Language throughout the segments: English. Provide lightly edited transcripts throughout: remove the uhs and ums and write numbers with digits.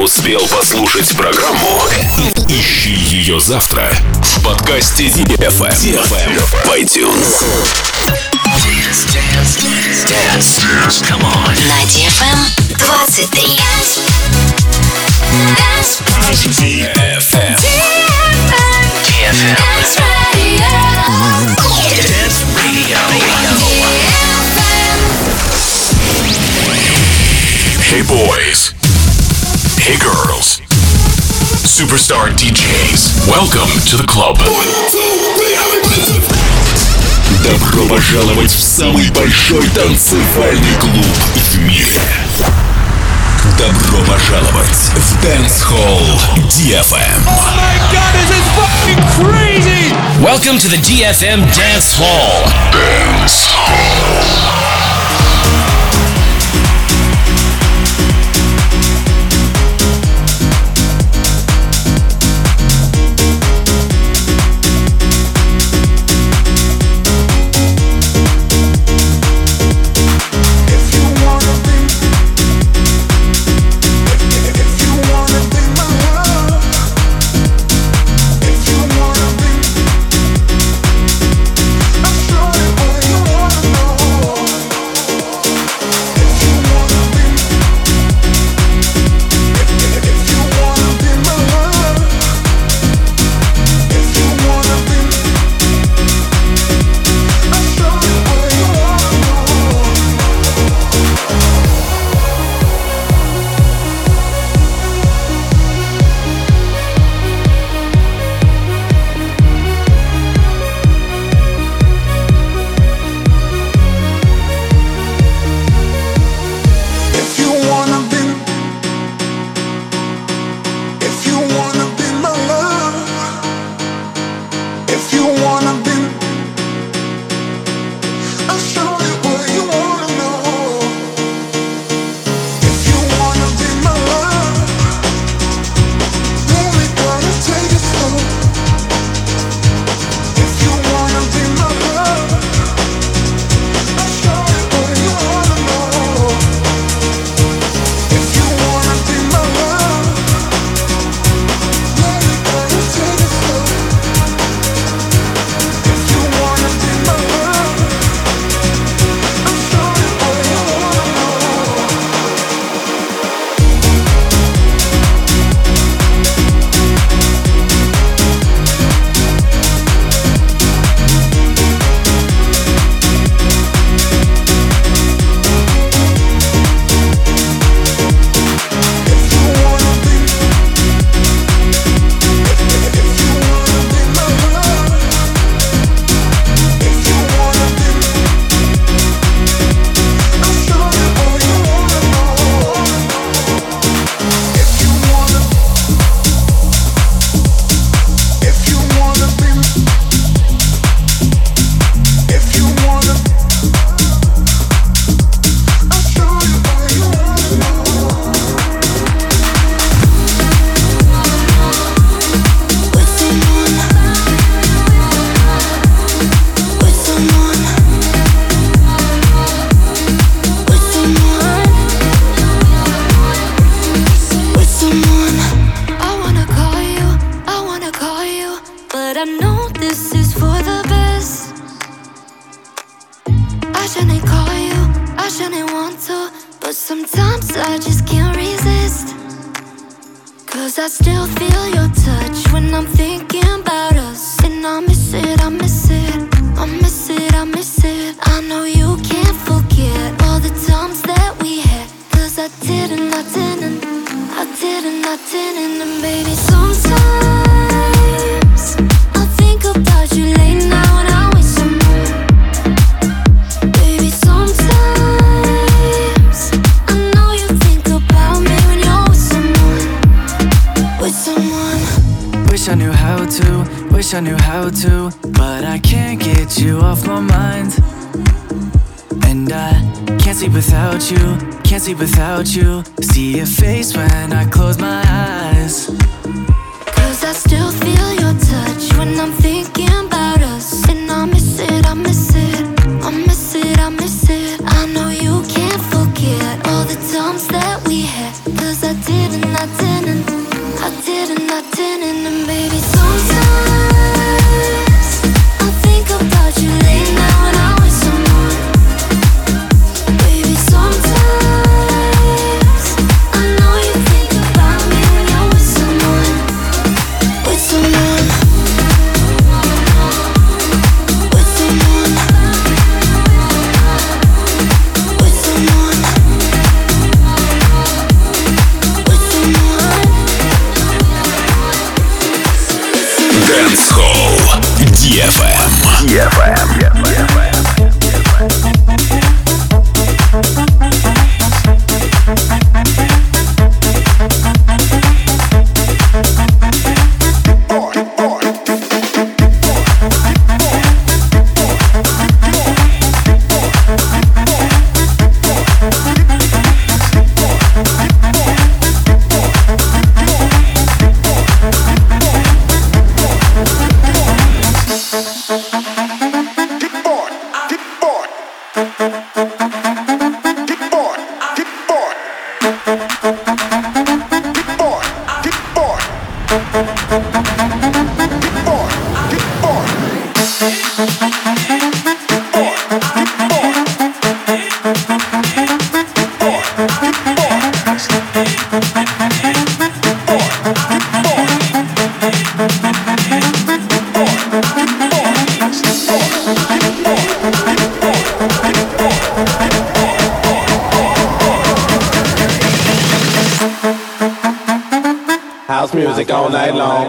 успел послушать программу? Ищи ее завтра в подкасте DFM в iTunes. Dance. Come on. На DFM 23. DFM. Dance Radio. Dance Radio. Hey boys. Hey girls. Superstar DJs. Welcome to the club. Добро пожаловать в самый большой танцевальный клуб в мире. Добро пожаловать в Dance Hall DFM. Oh my God, this is fucking crazy! Welcome to the DFM Dance Hall. Dance Hall. I still feel your touch when I'm thinking about us. And I miss it, I miss it, I miss it, I miss it. I know you can't forget all the times that we had. Cause I didn't, and baby, sometimes I think about you late now and I wish some more. Baby, sometimes I know you think about me when you're with someone. Wish I knew how to, but I can't get you off my mind. And I can't sleep without you, see your face when I close my eyes. Cause I still feel your touch when I'm thinking about us. And I miss it, I miss it, I miss it, I miss it. I know you can't forget all the times that we had. Cause I didn't house music all night long.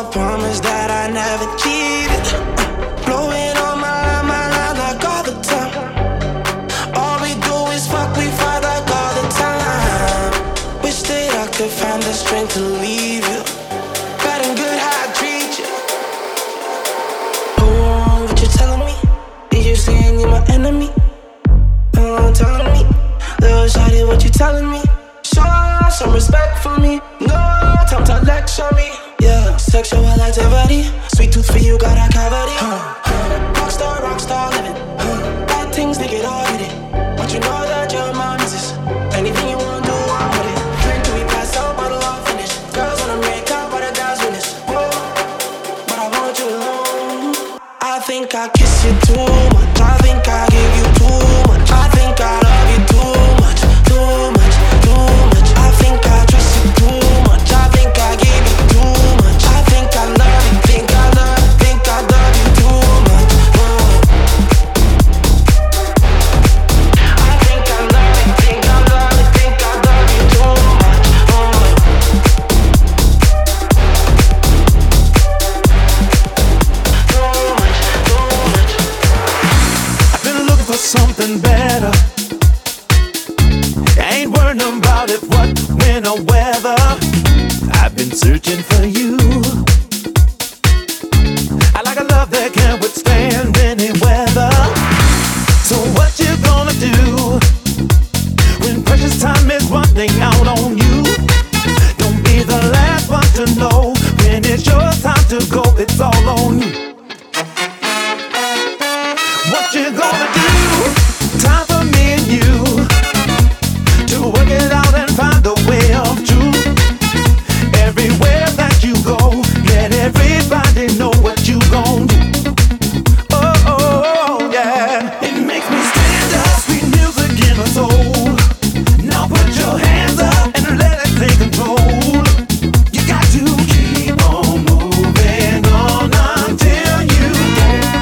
promise that I never cheated. Blowing on my line like all the time. All we do is fuck, we fight like all the time. Wish that I could find the strength to leave you. Bad and good how I treat you. Oh, what you telling me? Did you say you're my enemy? Oh, telling me, little shawty, what you telling me? Show some respect for me. No time to lecture me. Yeah, sexual activity. Sweet tooth for you, got a cavity. Rockstar living. Bad things, they get all hit it. But you know that you're my missus. Anything you wanna do, I'm with it. Drink till we pass out, bottle all finish. Girls wanna make out, but a guy's witness. Whoa, but I want you alone. I think I kiss you too much. I think I give you too much. I think I love you too much. Too much, too much. I think I trust you too much. I think I give you too much. I think I love you. Think I love you too much. I think I love you. Think I love you. Think I love you too much. Too much. I've been looking for something better. Ain't worrying about it, what, when, or whether. I've been searching for you. I like a love that can withstand any weather. So what you gonna do when precious time is running out on you? Don't be the last one to know when it's your time to go. It's all on you. What you gonna do? Time for me and you to work it out and find a way of truth. Everywhere that you go, let everybody know what you gon' do. Oh, oh, oh, yeah. It makes me stand up, sweet music in my soul. Now put your hands up and let it take control. You got to keep on moving on until you get it.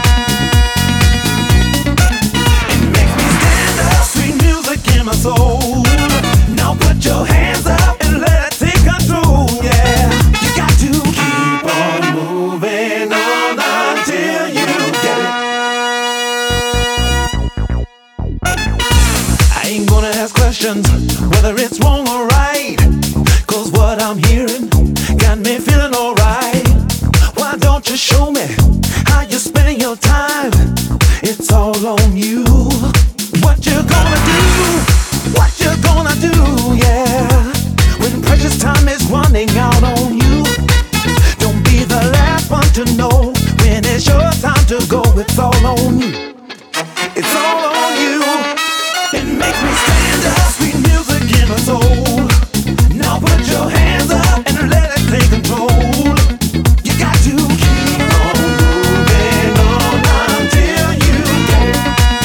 It makes me stand up, sweet music in my soul. Now put your hands up and let it take control, yeah. You got to keep on moving on until you get it. I ain't gonna ask questions whether it's wrong or right, 'cause what I'm hearing got me feeling alright. Why don't you show me how you spend your time? It's all on you. What you gonna do? What you gonna do, yeah, when precious time is running out on you? Don't be the last one to know when it's your time to go. It's all on you. It's all on you. It makes me stand up, sweet music in my soul. Now put your hands up and let it take control. You got to keep on moving on until you get it.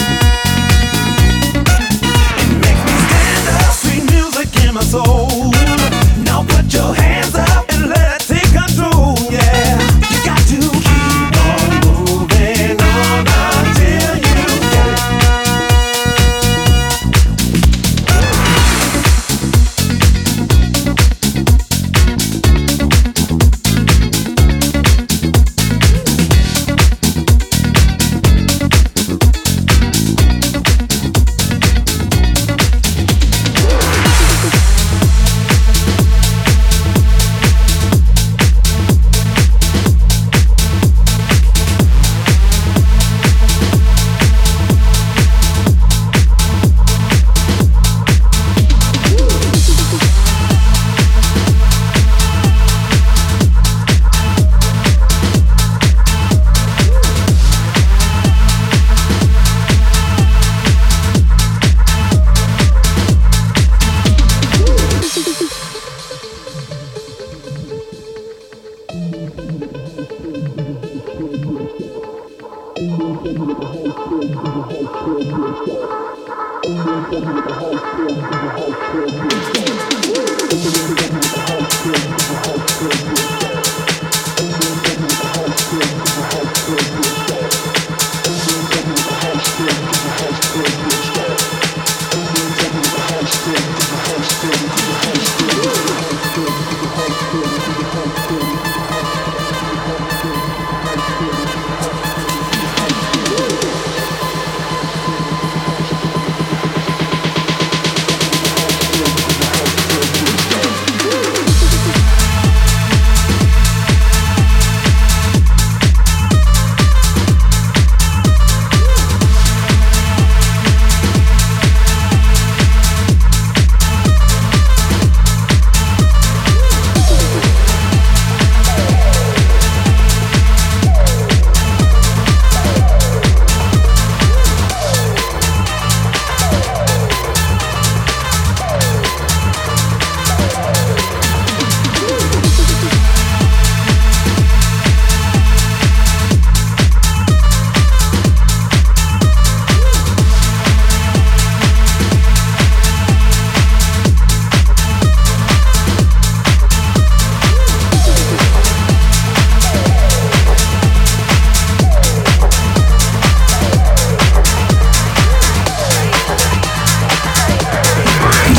It makes me stand up, sweet music in my soul. Now put your hands up and let it take control, yeah. You got to keep on moving on until you get it.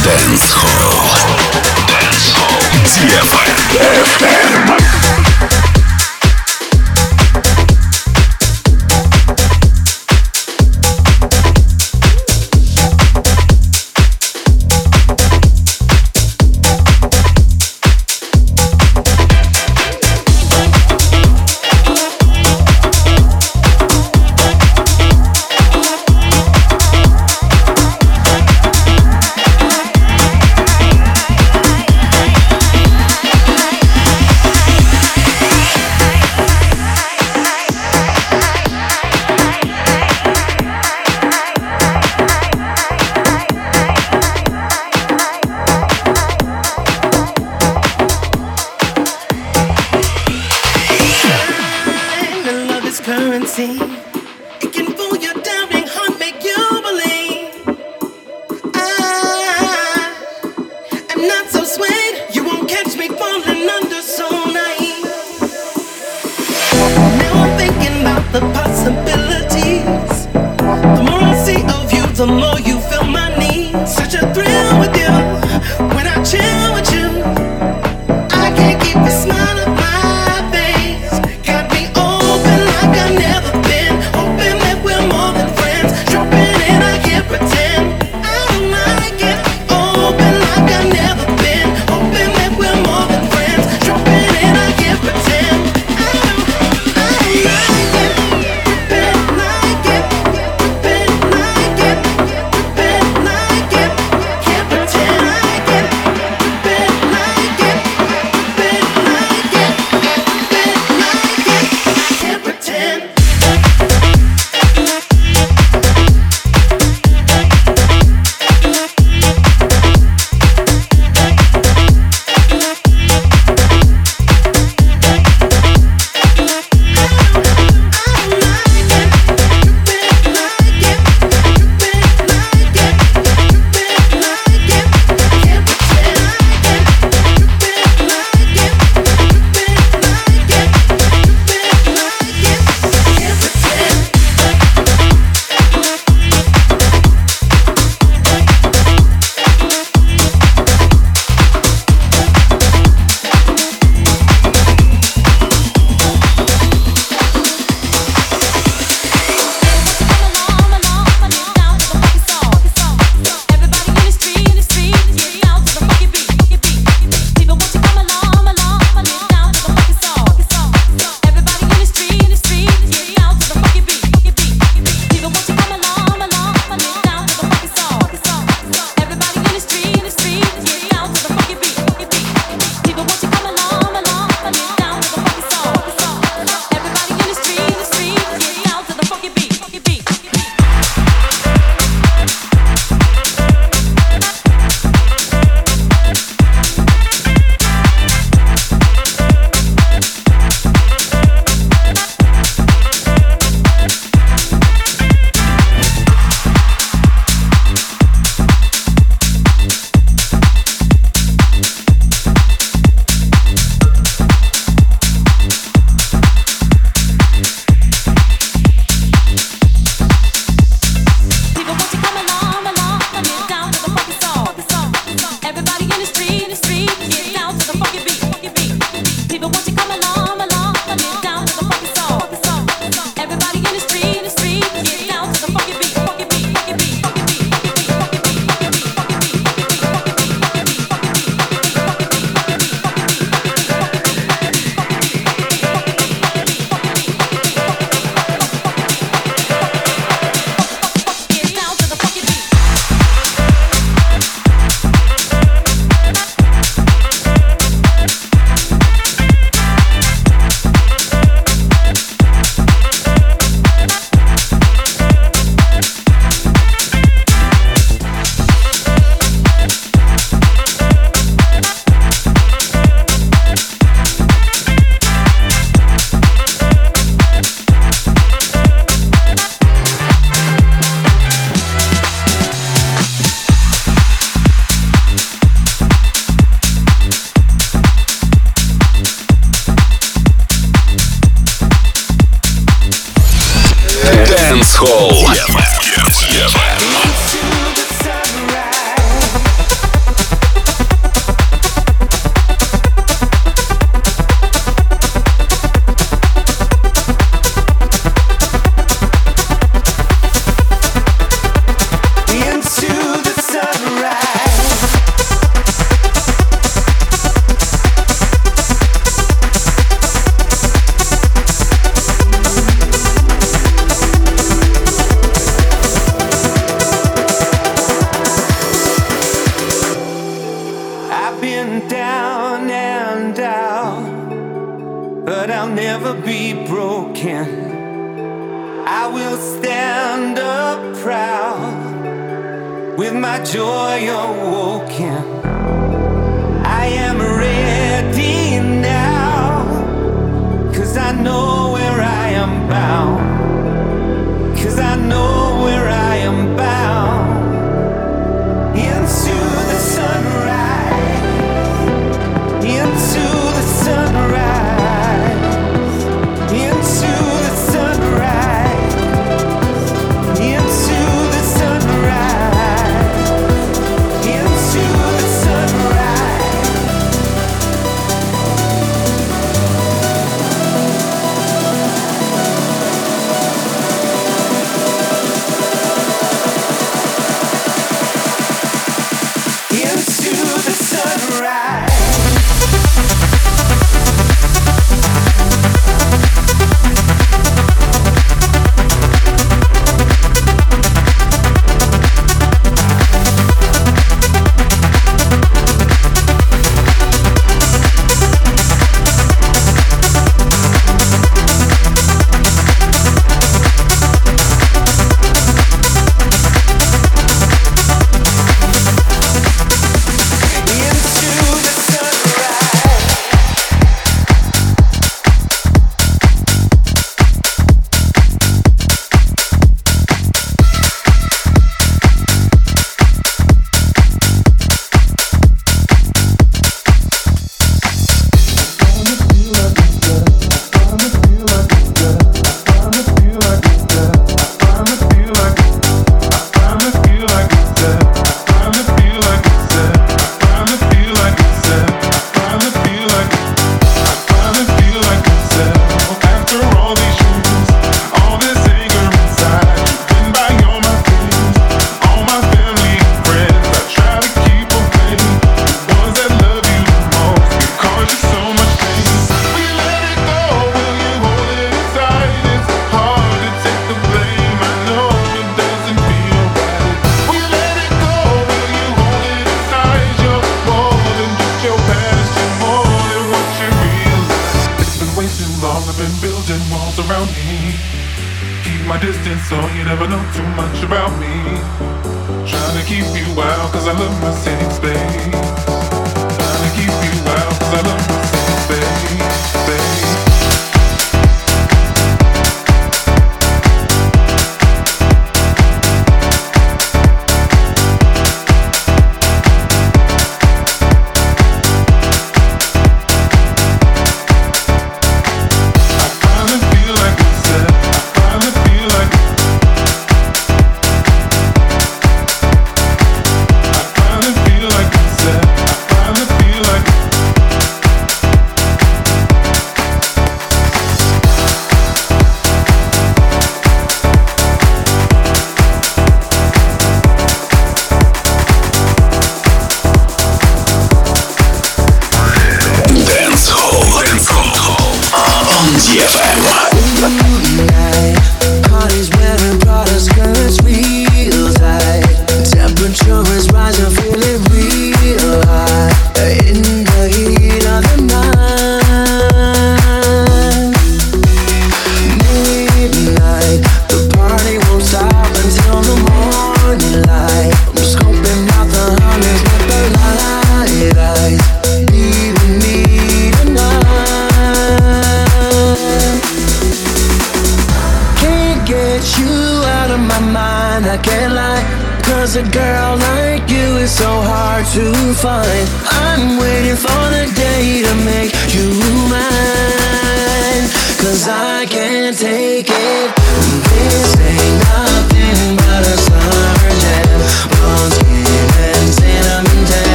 Dance Hall. DFM. never be broken. I will stand up proud with my joy awoken. I am ready now, 'cause I know where I am bound. 'Cause I know where I am bound. Into the sunrise, into the sunrise, into the sunrise, into the sunrise, into the sunrise. Into the sunrise.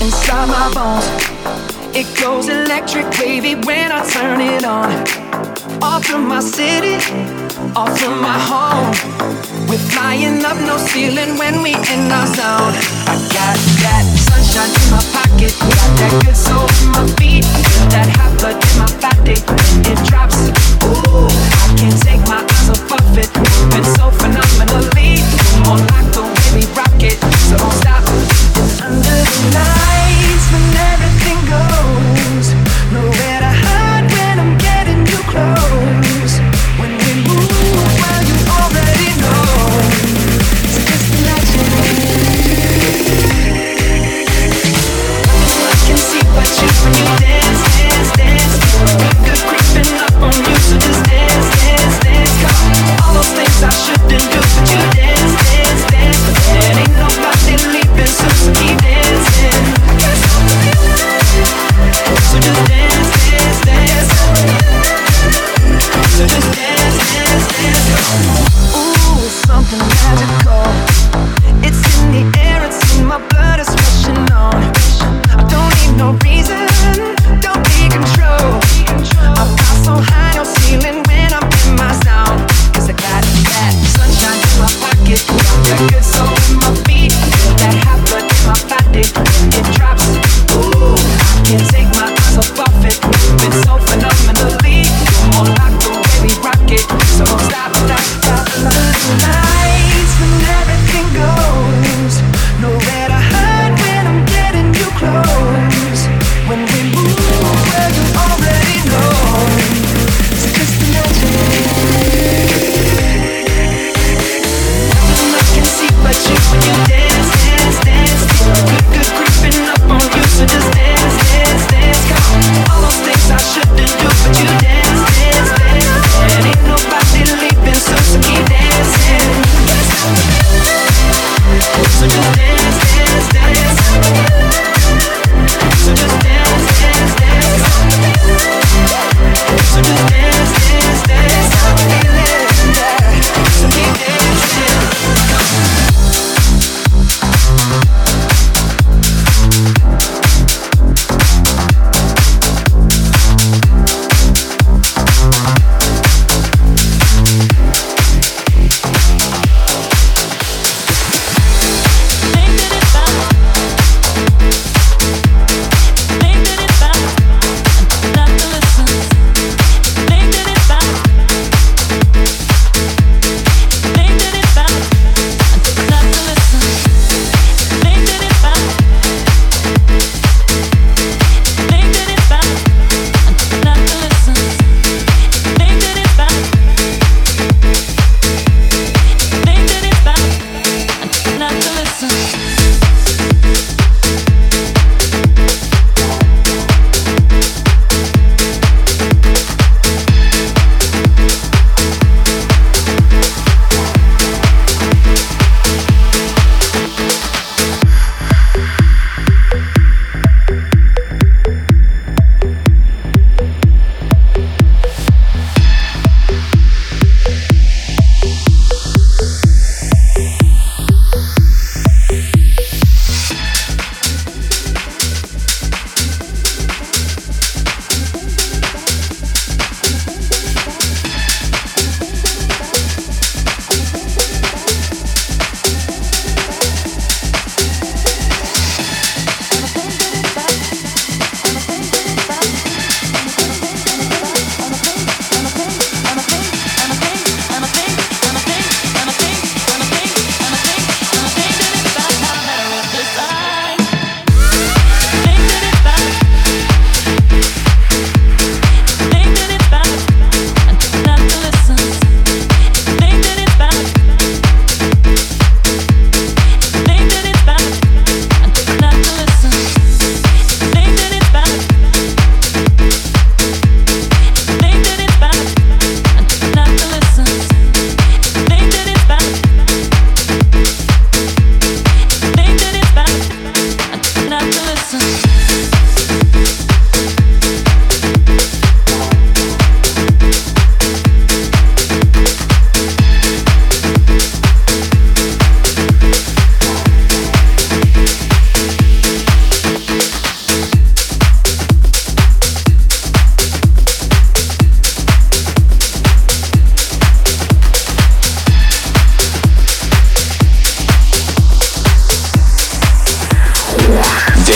inside my bones. It goes electric wavy when I turn it on. Off from my city, off from my home. We're flying up, no ceiling when we in our zone. I got that sunshine in my pocket, got that good soul in my feet, that hot blood in my body. It drops, ooh, I can't take my eyes off of it. Moving so phenomenally, more like the way we rock it. So don't stop. Under the lights, when everything goes, nowhere to hide when I'm getting you close. When we move, well, you already know. So just imagine.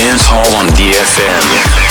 Dance Hall on DFM.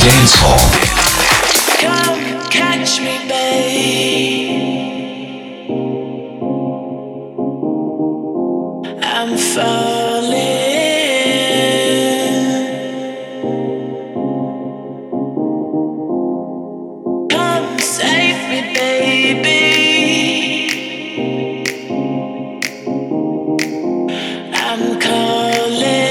Dance Hall. Come catch me, babe. I'm falling. Come save me, baby. I'm calling.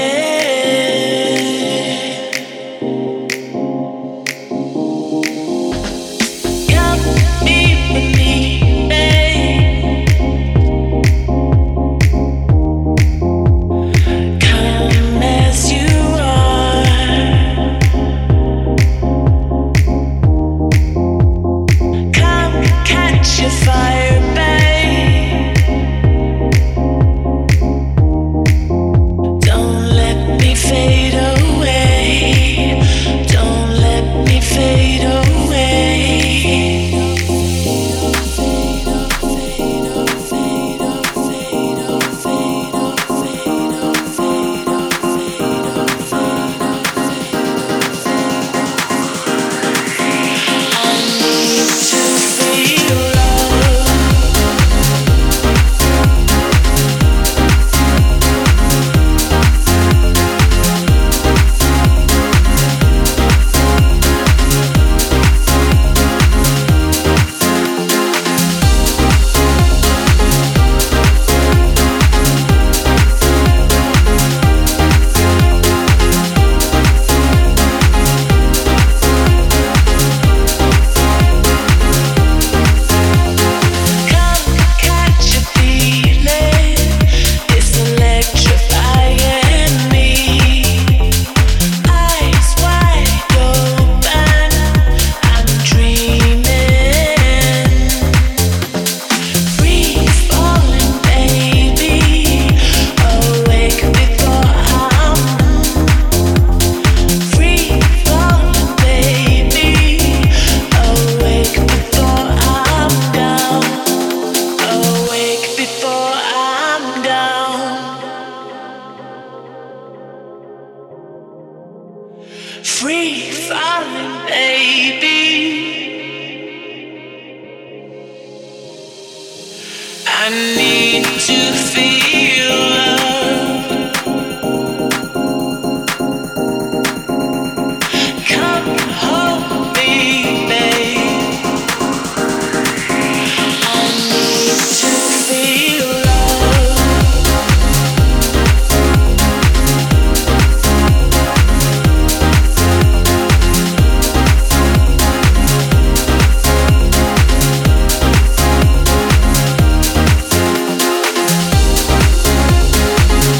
Free falling, baby.